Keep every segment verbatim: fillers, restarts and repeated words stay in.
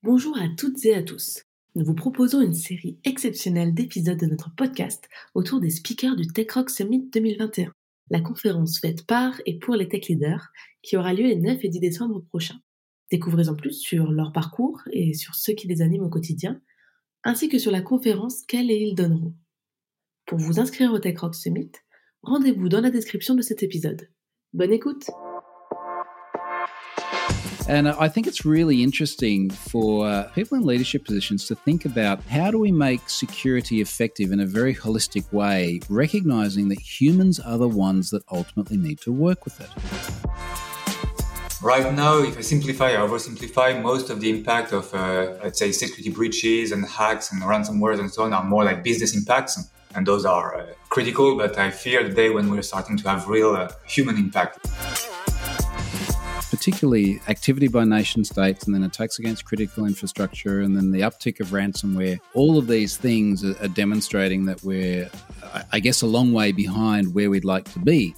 Bonjour à toutes et à tous. Nous vous proposons une série exceptionnelle d'épisodes de notre podcast autour des speakers du Tech Rock Summit deux mille vingt et un, la conférence faite par et pour les tech leaders qui aura lieu les neuf et dix décembre prochains. Découvrez en plus sur leur parcours et sur ce qui les anime au quotidien, ainsi que sur la conférence qu'elles et ils donneront. Pour vous inscrire au Tech Rock Summit, rendez-vous dans la description de cet épisode. Bonne écoute! And I think it's really interesting for uh, people in leadership positions to think about how do we make security effective in a very holistic way, recognizing that humans are the ones that ultimately need to work with it. Right now, if I simplify or oversimplify, most of the impact of, uh, let's say, security breaches and hacks and ransomware and so on are more like business impacts. And those are uh, critical, but I fear the day when we're starting to have real uh, human impact. Particularly activity by nation states and then attacks against critical infrastructure and then the uptick of ransomware. All of these things are, are demonstrating that we're, I guess, a long way behind where we'd like to be.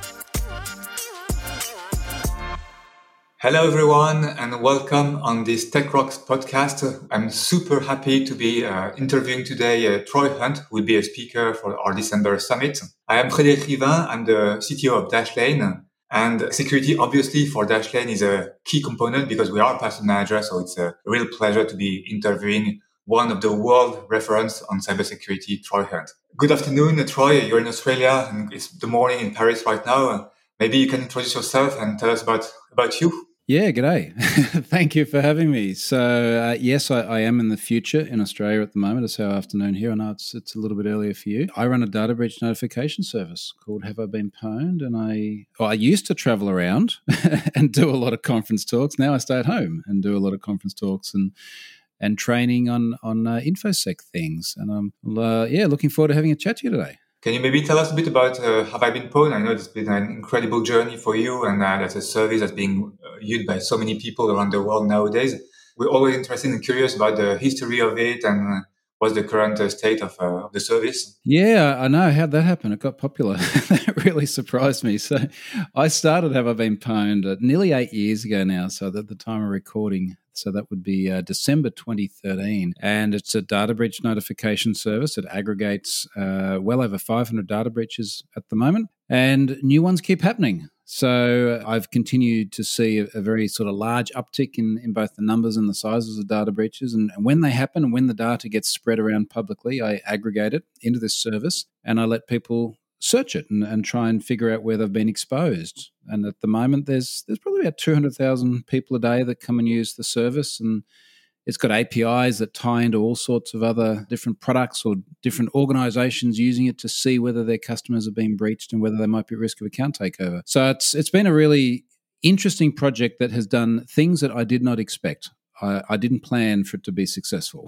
Hello, everyone, and welcome on this Tech Rocks podcast. I'm super happy to be uh, interviewing today uh, Troy Hunt, who will be a speaker for our December summit. I am Frédéric Rivin. I'm the C T O of Dashlane. And security, obviously, for Dashlane is a key component because we are a password manager. So it's a real pleasure to be interviewing one of the world reference on cybersecurity, Troy Hunt. Good afternoon, Troy. You're in Australia and it's the morning in Paris right now. Maybe you can introduce yourself and tell us about, about you. Yeah, g'day. Thank you for having me. So, uh, yes, I, I am in the future in Australia at the moment. It's our afternoon here. I know it's it's a little bit earlier for you. I run a data breach notification service called Have I Been Pwned? And I, well, I used to travel around and do a lot of conference talks. Now I stay at home and do a lot of conference talks and and training on, on uh, InfoSec things. And I'm, uh, yeah, looking forward to having a chat to you today. Can you maybe tell us a bit about uh, Have I Been Pwned? I know it's been an incredible journey for you, and uh, that's a service that's being uh, used by so many people around the world nowadays. We're always interested and curious about the history of it and uh, what's the current uh, state of, uh, of the service. Yeah, I know. How'd that happen? It got popular. That really surprised me. So I started Have I Been Pwned uh, nearly eight years ago now, so at the time of recording. So that would be uh, December twenty thirteen. And it's a data breach notification service. It aggregates uh, well over five hundred data breaches at the moment. And new ones keep happening. So I've continued to see a, a very sort of large uptick in, in both the numbers and the sizes of data breaches. And, and when they happen and when the data gets spread around publicly, I aggregate it into this service and I let people search it and, and try and figure out where they've been exposed. And at the moment, there's there's probably about two hundred thousand people a day that come and use the service. And it's got A P Is that tie into all sorts of other different products or different organizations using it to see whether their customers have been breached and whether they might be at risk of account takeover. So it's it's been a really interesting project that has done things that I did not expect. I, I didn't plan for it to be successful.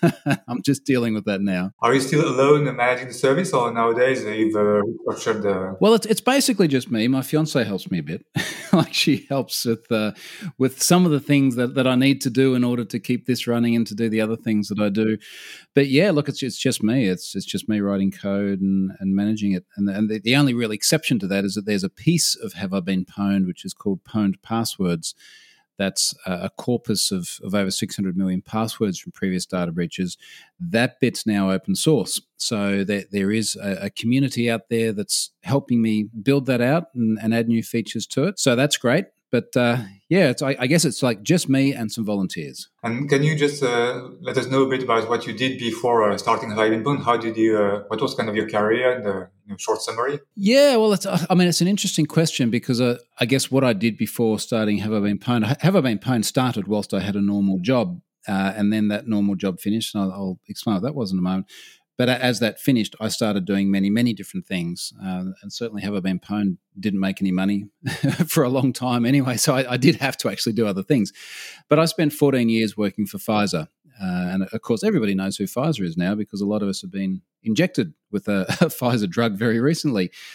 I'm just dealing with that now. Are you still alone managing the service, or nowadays you've uh, restructured the... Well, it's it's basically just me. My fiance helps me a bit. Like she helps with uh, with some of the things that, that I need to do in order to keep this running and to do the other things that I do. But yeah, look, it's it's just me. It's it's just me writing code and, and managing it. And, and the, the only real exception to that is that there's a piece of Have I Been Pwned, which is called Pwned Passwords. That's a corpus of, of over six hundred million passwords from previous data breaches. That bit's now open source. So there, there is a, a community out there that's helping me build that out and, and add new features to it. So that's great. But uh, yeah, it's, I, I guess it's like just me and some volunteers. And can you just uh, let us know a bit about what you did before uh, starting Have I Been Pwned? How did you, uh, what was kind of your career in the you know, short summary? Yeah, well, it's, I mean, it's an interesting question because uh, I guess what I did before starting Have I Been Pwned, Have I Been Pwned started whilst I had a normal job uh, and then that normal job finished. And I'll, I'll explain what that was in a moment. But as that finished, I started doing many, many different things. Uh, and certainly Have I Been Pwned didn't make any money for a long time anyway. So I, I did have to actually do other things. But I spent fourteen years working for Pfizer. Uh, and of course, everybody knows who Pfizer is now because a lot of us have been injected with a, a Pfizer drug very recently.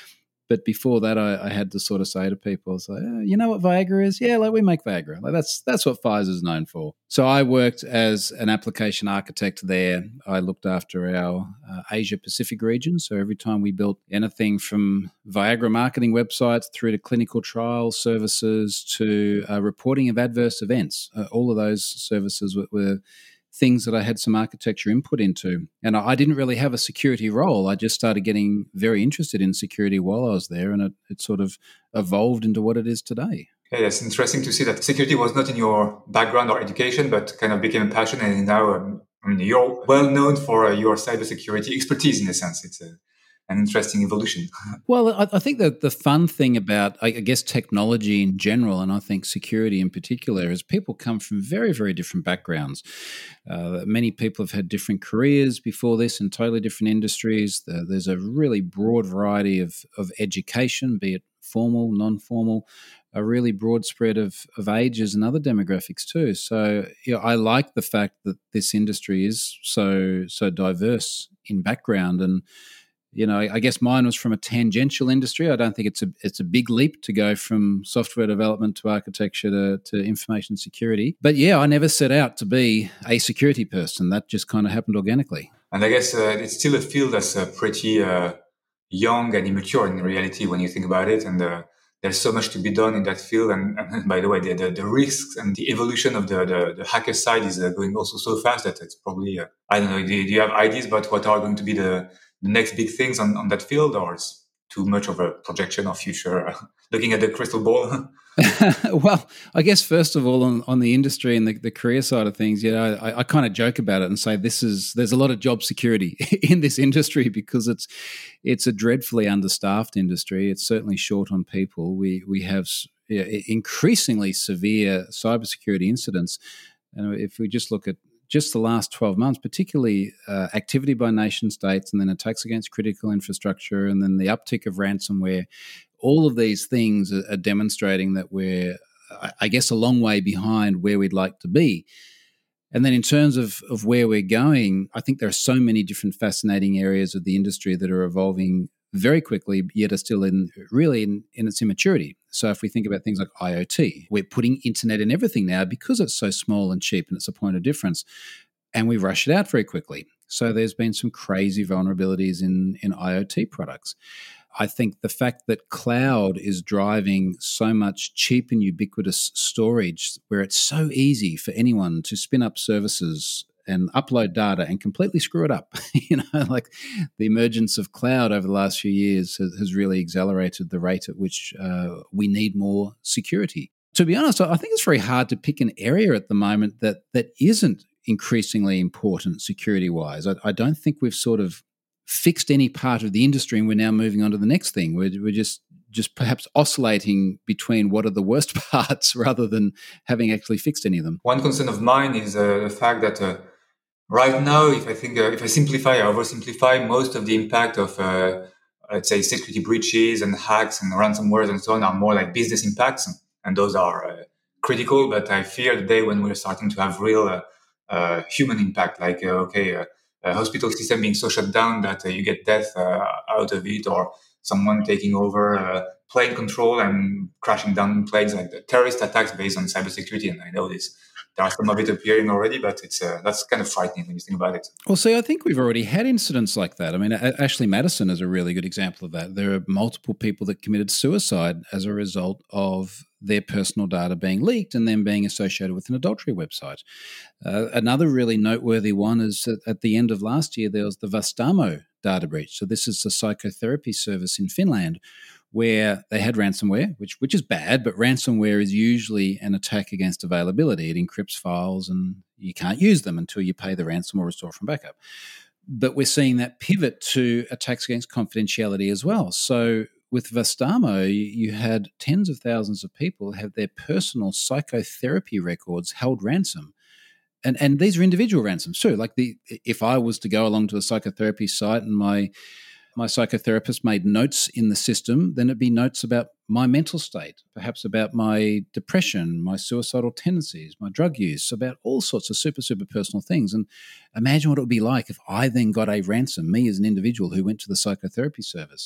But before that, I, I had to sort of say to people, it's like, oh, you know what Viagra is? Yeah, like we make Viagra. Like that's that's what Pfizer's known for. So I worked as an application architect there. I looked after our uh, Asia Pacific region. So every time we built anything from Viagra marketing websites through to clinical trial services to uh, reporting of adverse events, uh, all of those services were, were things that I had some architecture input into. And I didn't really have a security role. I just started getting very interested in security while I was there, and it, it sort of evolved into what it is today. Yeah, it's interesting to see that security was not in your background or education, but kind of became a passion. And now um, I mean, you're well known for uh, your cybersecurity expertise in a sense. It's a an interesting evolution. Well, I, I think that the fun thing about, I guess, technology in general, and I think security in particular, is people come from very, very different backgrounds. Uh, many people have had different careers before this in totally different industries. The, there's a really broad variety of, of education, be it formal, non-formal, a really broad spread of, of ages and other demographics too. So you know, I like the fact that this industry is so so diverse in background. And you know, I guess mine was from a tangential industry. I don't think it's a it's a big leap to go from software development to architecture to, to information security. But yeah, I never set out to be a security person. That just kind of happened organically. And I guess uh, it's still a field that's uh, pretty uh, young and immature in reality when you think about it. And uh, there's so much to be done in that field. And, and by the way, the, the, the risks and the evolution of the, the, the hacker side is uh, going also so fast that it's probably, uh, I don't know, do, do you have ideas about what are going to be the the next big things on, on that field, or it's too much of a projection of future, uh, looking at the crystal ball? Well, I guess first of all, on, on the industry and the, the career side of things, you know, I, I kind of joke about it and say this is there's a lot of job security in this industry because it's it's a dreadfully understaffed industry. It's certainly short on people. We we have yeah, increasingly severe cybersecurity incidents, and if we just look at just the last twelve months, particularly uh, activity by nation states and then attacks against critical infrastructure and then the uptick of ransomware, all of these things are, are demonstrating that we're, I guess, a long way behind where we'd like to be. And then in terms of, of where we're going, I think there are so many different fascinating areas of the industry that are evolving very quickly, yet are still in really in, in its immaturity. So if we think about things like IoT, we're putting internet in everything now because it's so small and cheap and it's a point of difference, and we rush it out very quickly. So there's been some crazy vulnerabilities in, in IoT products. I think the fact that cloud is driving so much cheap and ubiquitous storage, where it's so easy for anyone to spin up services and upload data and completely screw it up. You know, like the emergence of cloud over the last few years has, has really accelerated the rate at which uh, we need more security. To be honest, I think it's very hard to pick an area at the moment that that isn't increasingly important security-wise. I, I don't think we've sort of fixed any part of the industry and we're now moving on to the next thing. We're, we're just just perhaps oscillating between what are the worst parts rather than having actually fixed any of them. One concern of mine is uh, the fact that uh, right now, if I think, uh, if I simplify or oversimplify, most of the impact of, uh, let's say, security breaches and hacks and ransomware and so on are more like business impacts, and those are uh, critical. But I fear the day when we're starting to have real uh, uh, human impact, like uh, okay, uh, a hospital system being so shut down that uh, you get death uh, out of it, or someone taking over uh, plane control and crashing down planes, like the terrorist attacks based on cybersecurity. And I know this. There are some of it appearing already, but it's uh, that's kind of frightening when you think about it. Well, see, I think we've already had incidents like that. I mean, Ashley Madison is a really good example of that. There are multiple people that committed suicide as a result of their personal data being leaked and then being associated with an adultery website. Uh, another really noteworthy one is that at the end of last year, there was the Vastaamo data breach. So this is the psychotherapy service in Finland, where they had ransomware, which which is bad, but ransomware is usually an attack against availability. It encrypts files and you can't use them until you pay the ransom or restore from backup. But we're seeing that pivot to attacks against confidentiality as well. So with Vastaamo, you had tens of thousands of people have their personal psychotherapy records held ransom. And and these are individual ransoms too. Like the if I was to go along to a psychotherapy site and my my psychotherapist made notes in the system, then it'd be notes about my mental state, perhaps about my depression, my suicidal tendencies, my drug use, about all sorts of super, super personal things. And imagine what it would be like if I then got a ransom, me as an individual who went to the psychotherapy service.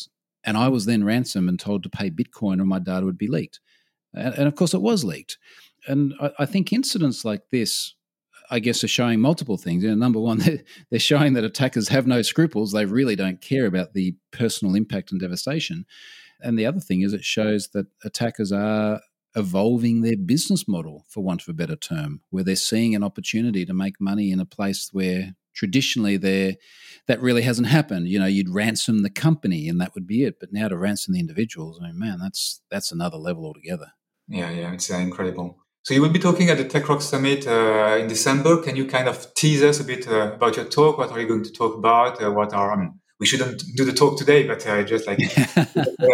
And I was then ransomed and told to pay Bitcoin or my data would be leaked. And, and of course, it was leaked. And I, I think incidents like this, I guess, are showing multiple things. You know, number one, they're, they're showing that attackers have no scruples. They really don't care about the personal impact and devastation. And the other thing is it shows that attackers are evolving their business model, for want of a better term, where they're seeing an opportunity to make money in a place where traditionally there that really hasn't happened. You know, you'd ransom the company and that would be it. But now to ransom the individuals, I mean, man, that's that's another level altogether. Yeah, yeah, it's uh, incredible. So you will be talking at the TechRock Summit uh, in December. Can you kind of tease us a bit uh, about your talk? What are you going to talk about? Uh, what are, I mean, we shouldn't do the talk today, but uh, just like uh,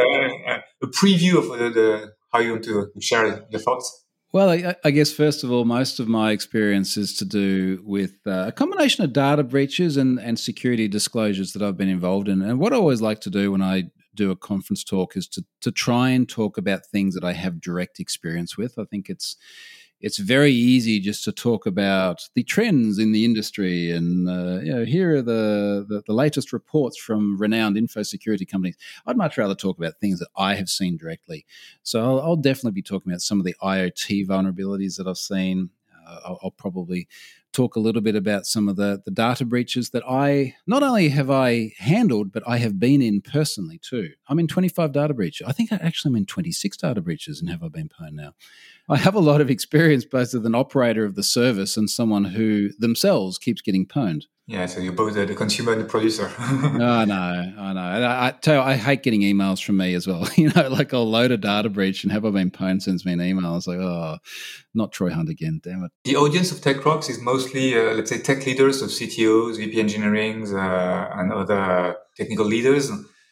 a preview of the, the how you want to share the thoughts. Well, I, I guess first of all, most of my experience is to do with uh, a combination of data breaches and, and security disclosures that I've been involved in. And what I always like to do when I do a conference talk is to to try and talk about things that I have direct experience with. I think it's it's very easy just to talk about the trends in the industry and uh, you know, here are the, the the latest reports from renowned info security companies. I'd much rather talk about things that I have seen directly. So I'll, I'll definitely be talking about some of the IoT vulnerabilities that I've seen. Uh, I'll, I'll probably talk a little bit about some of the, the data breaches that I, not only have I handled, but I have been in personally too. I'm in twenty-five data breaches. I think I actually am in twenty-six data breaches and have I been pwned now. I have a lot of experience both as an operator of the service and someone who themselves keeps getting pwned. Yeah, so you're both uh, the consumer and the producer. I know, I know. I, I tell you, I hate getting emails from me as well. You know, like I'll load a data breach and have I been pwned sends me an email. It's like, oh, not Troy Hunt again, damn it. The audience of TechRocks is mostly, uh, let's say, tech leaders, so C T Os, V P engineerings, uh, and other technical leaders.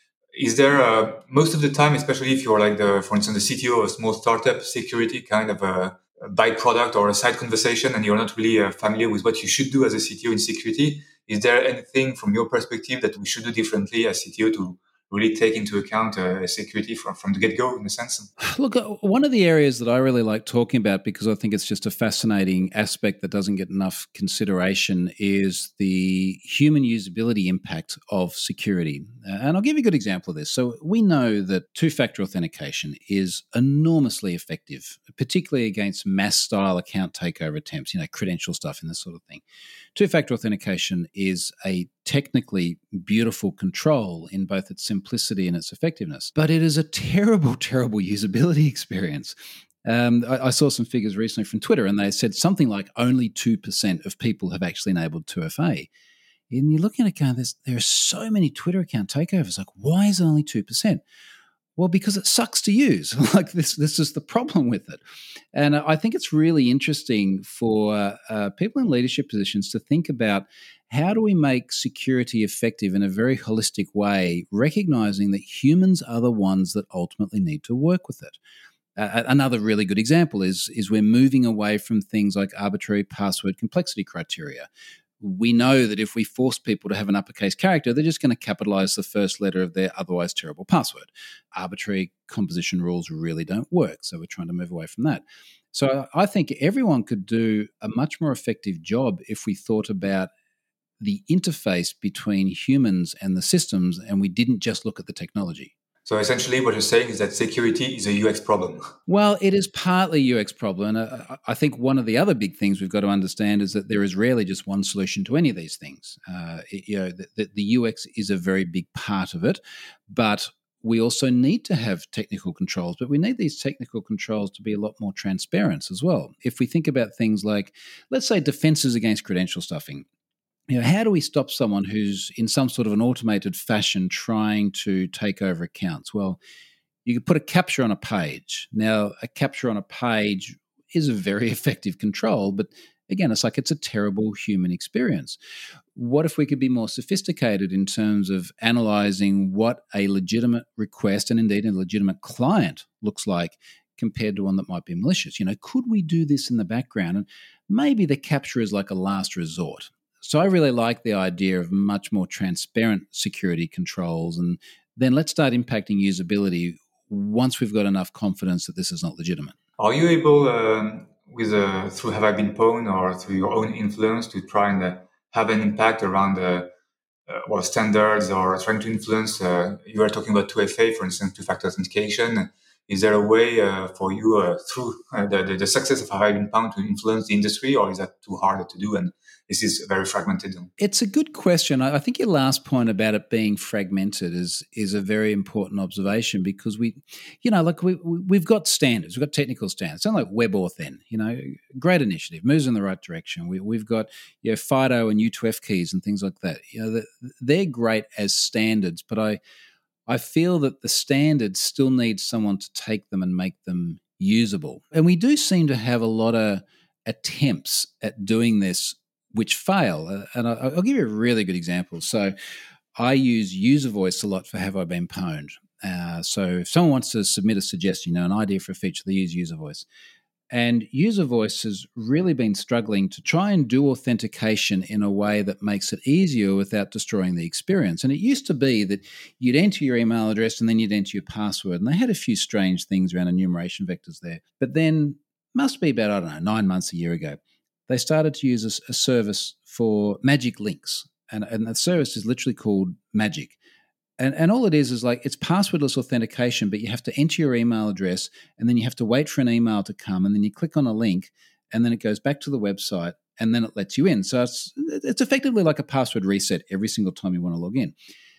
Is there, uh, most of the time, especially if you're like, the, for instance, the C T O of a small startup, security kind of a, a byproduct or a side conversation, and you're not really uh, familiar with what you should do as a C T O in security, is there anything from your perspective that we should do differently as C T O to really take into account uh, security from, from the get-go, in a sense? Look, one of the areas that I really like talking about, because I think it's just a fascinating aspect that doesn't get enough consideration, is the human usability impact of security. And I'll give you a good example of this. So we know that two-factor authentication is enormously effective, particularly against mass-style account takeover attempts, you know, credential stuff and this sort of thing. Two-factor authentication is a technically beautiful control in both its simplicity and its effectiveness, but it is a terrible, terrible usability experience. Um, I, I saw some figures recently from Twitter, and they said something like only two percent of people have actually enabled two F A. And you're looking at it going, there are so many Twitter account takeovers. Like, why is it only two percent? Well, because it sucks to use. Like this, this is the problem with it. And I think it's really interesting for uh, people in leadership positions to think about how do we make security effective in a very holistic way, recognizing that humans are the ones that ultimately need to work with it. Uh, another really good example is, is we're moving away from things like arbitrary password complexity criteria. We know that if we force people to have an uppercase character, they're just going to capitalize the first letter of their otherwise terrible password. Arbitrary composition rules really don't work, so we're trying to move away from that. So I think everyone could do a much more effective job if we thought about the interface between humans and the systems, and we didn't just look at the technology. So essentially what you're saying is that security is a U X problem. Well, it is partly a U X problem. And I think one of the other big things we've got to understand is that there is rarely just one solution to any of these things. Uh, it, you know, the, the U X is a very big part of it, but we also need to have technical controls, but we need these technical controls to be a lot more transparent as well. If we think about things like, let's say, defenses against credential stuffing. You know, how do we stop someone who's in some sort of an automated fashion trying to take over accounts? Well, you could put a capture on a page. Now, a capture on a page is a very effective control, but again, it's like it's a terrible human experience. What if we could be more sophisticated in terms of analyzing what a legitimate request and indeed a legitimate client looks like compared to one that might be malicious? You know, could we do this in the background? And maybe the capture is like a last resort. So I really like the idea of much more transparent security controls, and then let's start impacting usability once we've got enough confidence that this is not legitimate. Are you able, um, with uh, through Have I Been Pwned or through your own influence, to try and uh, have an impact around uh, uh, well, standards or trying to influence? Uh, you are talking about two F A, for instance, two-factor authentication. Is there a way uh, for you uh, through uh, the, the the success of Have I Been Pwned to influence the industry, or is that too hard to do? And this is very fragmented. It's a good question. I think your last point about it being fragmented is is a very important observation, because we, you know, like we we've got standards, we've got technical standards. Something like WebAuthn, you know, great initiative, moves in the right direction. We, we've got you know FIDO and U two F keys and things like that. You know, they're great as standards, but I I feel that the standards still need someone to take them and make them usable. And we do seem to have a lot of attempts at doing this which fail. Uh, and I, I'll give you a really good example. So I use user voice a lot for Have I Been Pwned. Uh, so if someone wants to submit a suggestion, you know, an idea for a feature, they use user voice. And user voice has really been struggling to try and do authentication in a way that makes it easier without destroying the experience. And it used to be that you'd enter your email address and then you'd enter your password. And they had a few strange things around enumeration vectors there. But then, must be about, I don't know, nine months, a year ago, they started to use a, a service for magic links. And, and the service is literally called Magic. And, and all it is is like it's passwordless authentication, but you have to enter your email address and then you have to wait for an email to come, and then you click on a link and then it goes back to the website and then it lets you in. So it's it's effectively like a password reset every single time you want to log in.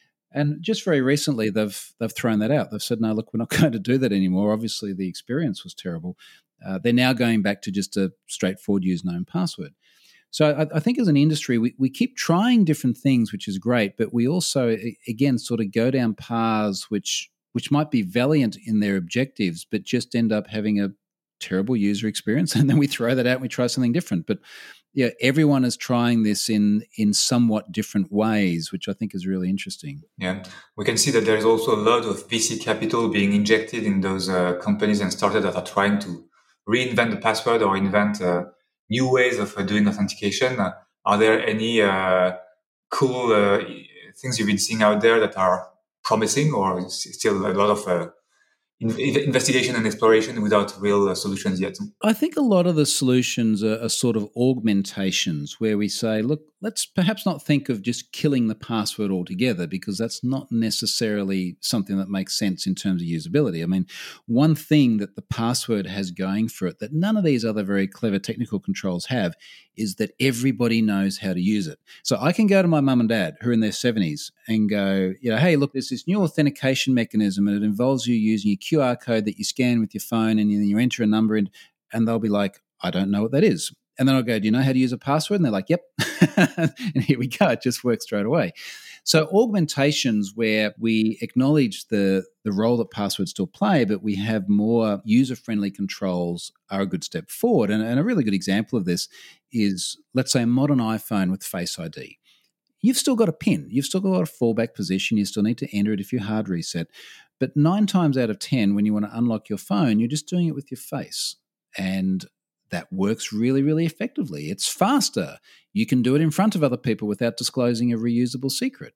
And just very recently, they've they've thrown that out. They've said, no, look, we're not going to do that anymore. Obviously, the experience was terrible. Uh, they're now going back to just a straightforward use known password. So I, I think as an industry, we, we keep trying different things, which is great, but we also, again, sort of go down paths which which might be valiant in their objectives, but just end up having a terrible user experience. And then we throw that out and we try something different. But yeah, everyone is trying this in in somewhat different ways, which I think is really interesting. Yeah, we can see that there is also a lot of V C capital being injected in those uh, companies and startups that are trying to reinvent the password or invent uh, new ways of uh, doing authentication. Uh, are there any uh, cool uh, things you've been seeing out there that are promising, or is still a lot of uh, in- investigation and exploration without real uh, solutions yet? I think a lot of the solutions are, are sort of augmentations where we say, look, let's perhaps not think of just killing the password altogether, because that's not necessarily something that makes sense in terms of usability. I mean, one thing that the password has going for it that none of these other very clever technical controls have is that everybody knows how to use it. So I can go to my mum and dad who are in their seventies and go, you know, hey, look, there's this new authentication mechanism and it involves you using a Q R code that you scan with your phone and then you enter a number in, and they'll be like, I don't know what that is. And then I'll go, do you know how to use a password? And they're like, yep. And here we go. It just works straight away. So augmentations where we acknowledge the, the role that passwords still play, but we have more user-friendly controls are a good step forward. And, and a really good example of this is, let's say, a modern iPhone with Face I D. You've still got a PIN. You've still got a fallback position. You still need to enter it if you hard reset. But nine times out of ten, when you want to unlock your phone, you're just doing it with your face. And that works really, really effectively. It's faster. You can do it in front of other people without disclosing a reusable secret.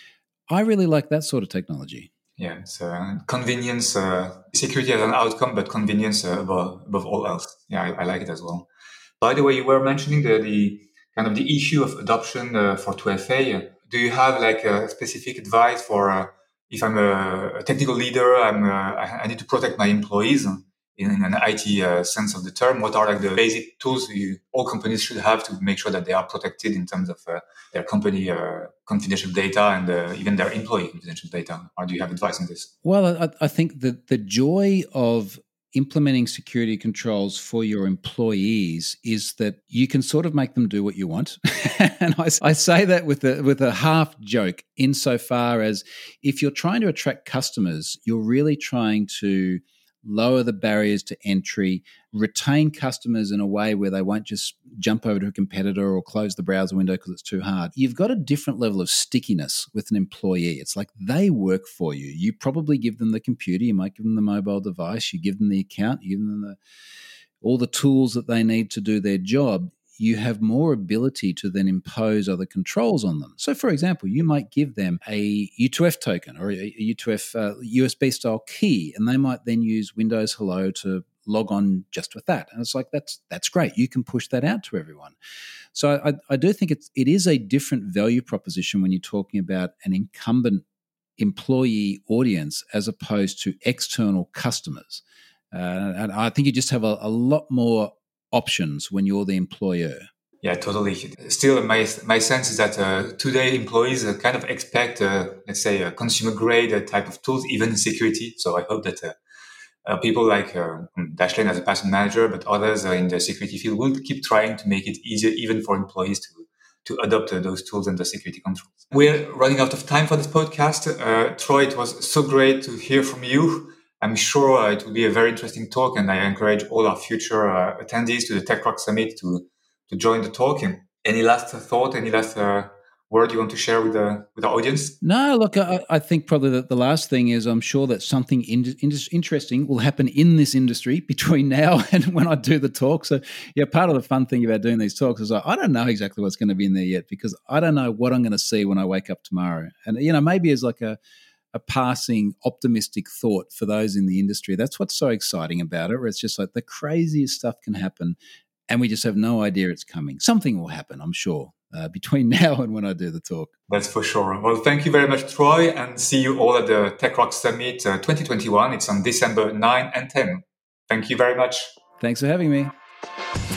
I really like that sort of technology. Yeah, it's uh, convenience, uh, security as an outcome, but convenience uh, above, above all else. Yeah, I, I like it as well. By the way, you were mentioning the, the kind of the issue of adoption uh, for two F A. Do you have like a specific advice for uh, if I'm a, a technical leader, I'm uh, I need to protect my employees in, in an I T uh, sense of the term? What are like the basic tools you, all companies should have to make sure that they are protected in terms of uh, their company uh, confidential data and uh, even their employee confidential data? Or do you have advice on this? Well, I, I think that the joy of implementing security controls for your employees is that you can sort of make them do what you want. And I, I say that with a, with a half joke, insofar as if you're trying to attract customers, you're really trying to lower the barriers to entry, retain customers in a way where they won't just jump over to a competitor or close the browser window because it's too hard. You've got a different level of stickiness with an employee. It's like they work for you. You probably give them the computer, you might give them the mobile device, you give them the account, you give them the, all the tools that they need to do their job. You have more ability to then impose other controls on them. So, for example, you might give them a U two F token or a U two F uh, U S B style key, and they might then use Windows Hello to log on just with that. And it's like, that's that's great. You can push that out to everyone. So I, I do think it's, it is a different value proposition when you're talking about an incumbent employee audience as opposed to external customers. Uh, and I think you just have a, a lot more options when you're the employer. Yeah, totally. Still, my my sense is that uh, today employees uh, kind of expect, uh, let's say, a consumer grade uh, type of tools, even in security. So I hope that uh, uh, people like uh, Dashlane as a password manager, but others uh, in the security field will keep trying to make it easier, even for employees to to adopt uh, those tools and the security controls. We're running out of time for this podcast. Uh, Troy, it was so great to hear from you. I'm sure uh, it will be a very interesting talk, and I encourage all our future uh, attendees to the TechRock Summit to to join the talk. Any last thought, any last uh, word you want to share with the with the audience? No, look, I, I think probably the, the last thing is I'm sure that something in, in, interesting will happen in this industry between now and when I do the talk. So, yeah, part of the fun thing about doing these talks is I, I don't know exactly what's going to be in there yet because I don't know what I'm going to see when I wake up tomorrow. And, you know, maybe as like a, a passing optimistic thought for those in the industry. That's what's so exciting about it, where it's just like the craziest stuff can happen and we just have no idea it's coming. Something will happen, I'm sure, uh, between now and when I do the talk. That's for sure. Well, thank you very much, Troy, and see you all at the TechRock Summit uh, twenty twenty-one. It's on December ninth and tenth. Thank you very much. Thanks for having me.